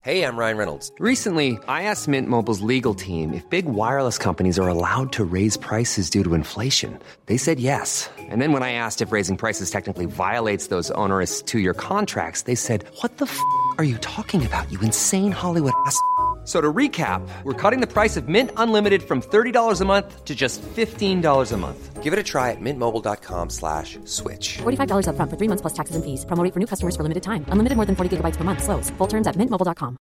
Hey, I'm Ryan Reynolds. Recently, I asked Mint Mobile's legal team if big wireless companies are allowed to raise prices due to inflation. They said yes. And then when I asked if raising prices technically violates those onerous two-year contracts, they said, "What the f*** are you talking about, you insane Hollywood ass?" So to recap, we're cutting the price of Mint Unlimited from $30 a month to just $15 a month. Give it a try at mintmobile.com/switch. $45 up front for 3 months plus taxes and fees. Promo rate for new customers for limited time. Unlimited more than 40 gigabytes per month. Slows full terms at mintmobile.com.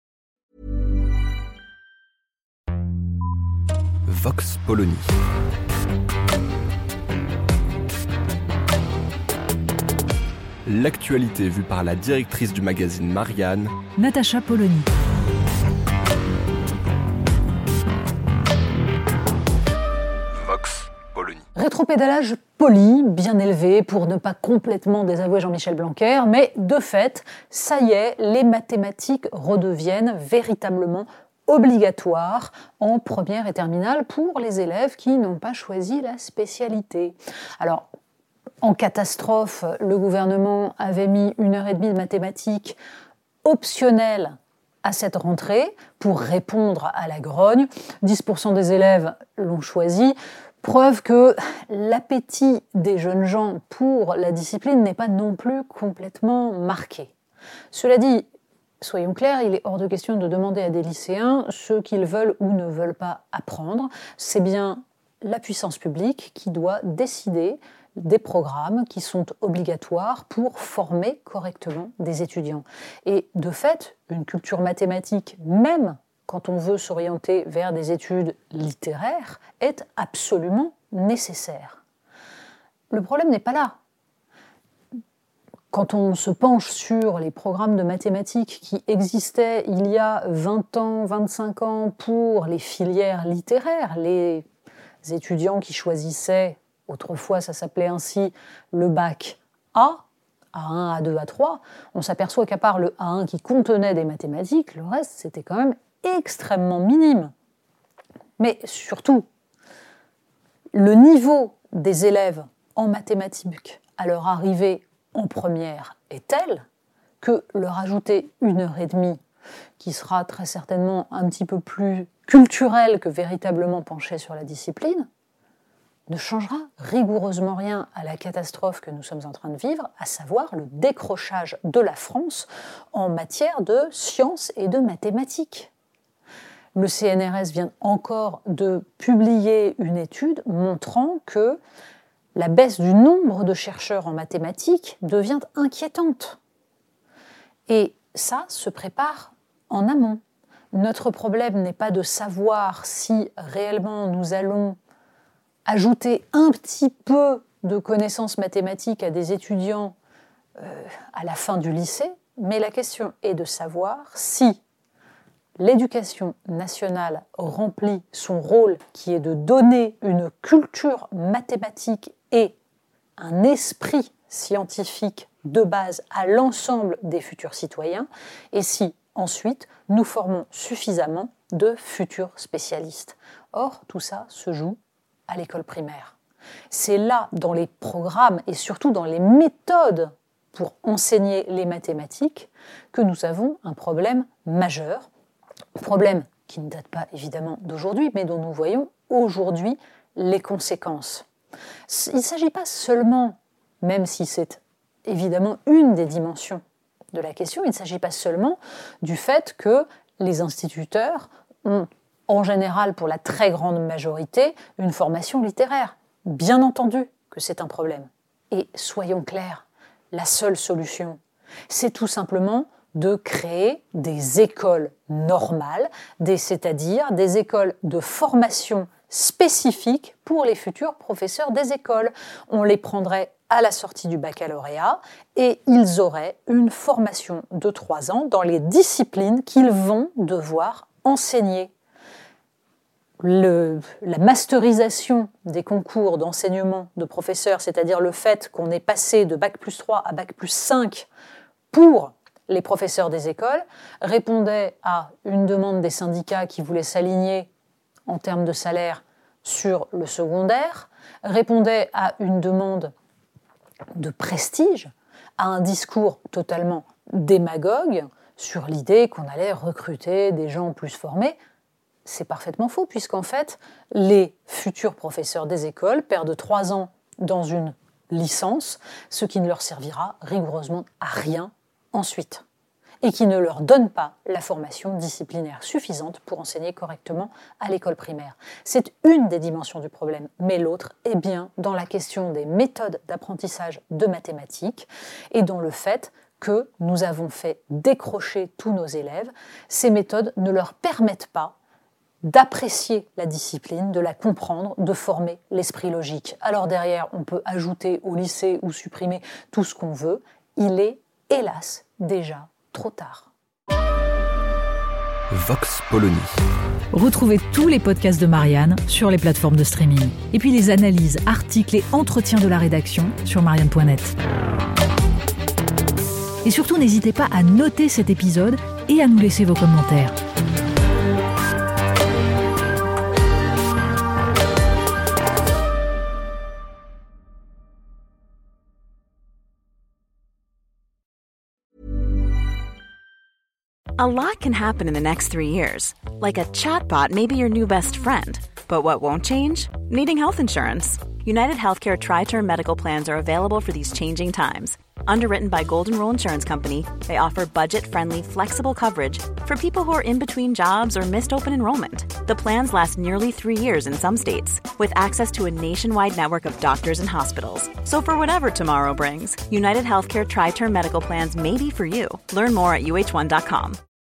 Vox Polony. L'actualité vue par la directrice du magazine Marianne, Natacha Polony. Vox Polony. Rétropédalage poli, bien élevé pour ne pas complètement désavouer Jean-Michel Blanquer, mais de fait, ça y est, les mathématiques redeviennent véritablement obligatoires en première et terminale pour les élèves qui n'ont pas choisi la spécialité. Alors, en catastrophe, le gouvernement avait mis 1h30 de mathématiques optionnelles à cette rentrée pour répondre à la grogne. 10% des élèves l'ont choisi. Preuve que l'appétit des jeunes gens pour la discipline n'est pas non plus complètement marqué. Cela dit, soyons clairs, il est hors de question de demander à des lycéens ce qu'ils veulent ou ne veulent pas apprendre. C'est bien la puissance publique qui doit décider des programmes qui sont obligatoires pour former correctement des étudiants. Et de fait, une culture mathématique, même quand on veut s'orienter vers des études littéraires, est absolument nécessaire. Le problème n'est pas là. Quand on se penche sur les programmes de mathématiques qui existaient il y a 20 ans, 25 ans pour les filières littéraires, les étudiants qui choisissaient, autrefois ça s'appelait ainsi, le bac A, A1, A2, A3, on s'aperçoit qu'à part le A1 qui contenait des mathématiques, le reste c'était quand même extrêmement minime. Mais surtout, le niveau des élèves en mathématiques à leur arrivée en première est tel que leur ajouter 1h30, qui sera très certainement un petit peu plus culturel que véritablement penché sur la discipline, ne changera rigoureusement rien à la catastrophe que nous sommes en train de vivre, à savoir le décrochage de la France en matière de sciences et de mathématiques. Le CNRS vient encore de publier une étude montrant que la baisse du nombre de chercheurs en mathématiques devient inquiétante. Et ça se prépare en amont. Notre problème n'est pas de savoir si réellement nous allons ajouter un petit peu de connaissances mathématiques à des étudiants à la fin du lycée, mais la question est de savoir si l'éducation nationale remplit son rôle qui est de donner une culture mathématique et un esprit scientifique de base à l'ensemble des futurs citoyens, et si ensuite nous formons suffisamment de futurs spécialistes. Or, tout ça se joue à l'école primaire. C'est là, dans les programmes et surtout dans les méthodes pour enseigner les mathématiques, que nous avons un problème majeur. Problème qui ne date pas évidemment d'aujourd'hui, mais dont nous voyons aujourd'hui les conséquences. Il ne s'agit pas seulement, même si c'est évidemment une des dimensions de la question, il ne s'agit pas seulement du fait que les instituteurs ont, en général, pour la très grande majorité, une formation littéraire. Bien entendu que c'est un problème. Et soyons clairs, la seule solution, c'est tout simplement de créer des écoles normales, c'est-à-dire des écoles de formation spécifiques pour les futurs professeurs des écoles. On les prendrait à la sortie du baccalauréat et ils auraient une formation de 3 ans dans les disciplines qu'ils vont devoir enseigner. La masterisation des concours d'enseignement de professeurs, c'est-à-dire le fait qu'on est passé de Bac+3 à Bac+5 pour les professeurs des écoles, répondait à une demande des syndicats qui voulaient s'aligner en termes de salaire sur le secondaire, répondait à une demande de prestige, à un discours totalement démagogue sur l'idée qu'on allait recruter des gens plus formés. C'est parfaitement faux, puisqu'en fait, les futurs professeurs des écoles perdent 3 ans dans une licence, ce qui ne leur servira rigoureusement à rien ensuite, et qui ne leur donne pas la formation disciplinaire suffisante pour enseigner correctement à l'école primaire. C'est une des dimensions du problème, mais l'autre est bien dans la question des méthodes d'apprentissage de mathématiques et dans le fait que nous avons fait décrocher tous nos élèves. Ces méthodes ne leur permettent pas d'apprécier la discipline, de la comprendre, de former l'esprit logique. Alors derrière, on peut ajouter au lycée ou supprimer tout ce qu'on veut. Il est, hélas, déjà trop tard. Vox Polony. Retrouvez tous les podcasts de Marianne sur les plateformes de streaming. Et puis les analyses, articles et entretiens de la rédaction sur marianne.net. Et surtout, n'hésitez pas à noter cet épisode et à nous laisser vos commentaires. A lot can happen in the next 3 years. Like a chatbot may be your new best friend. But what won't change? Needing health insurance. United Healthcare Tri-Term Medical Plans are available for these changing times. Underwritten by Golden Rule Insurance Company, they offer budget-friendly, flexible coverage for people who are in between jobs or missed open enrollment. The plans last nearly 3 years in some states, with access to a nationwide network of doctors and hospitals. So for whatever tomorrow brings, United Healthcare Tri-Term Medical Plans may be for you. Learn more at uh1.com.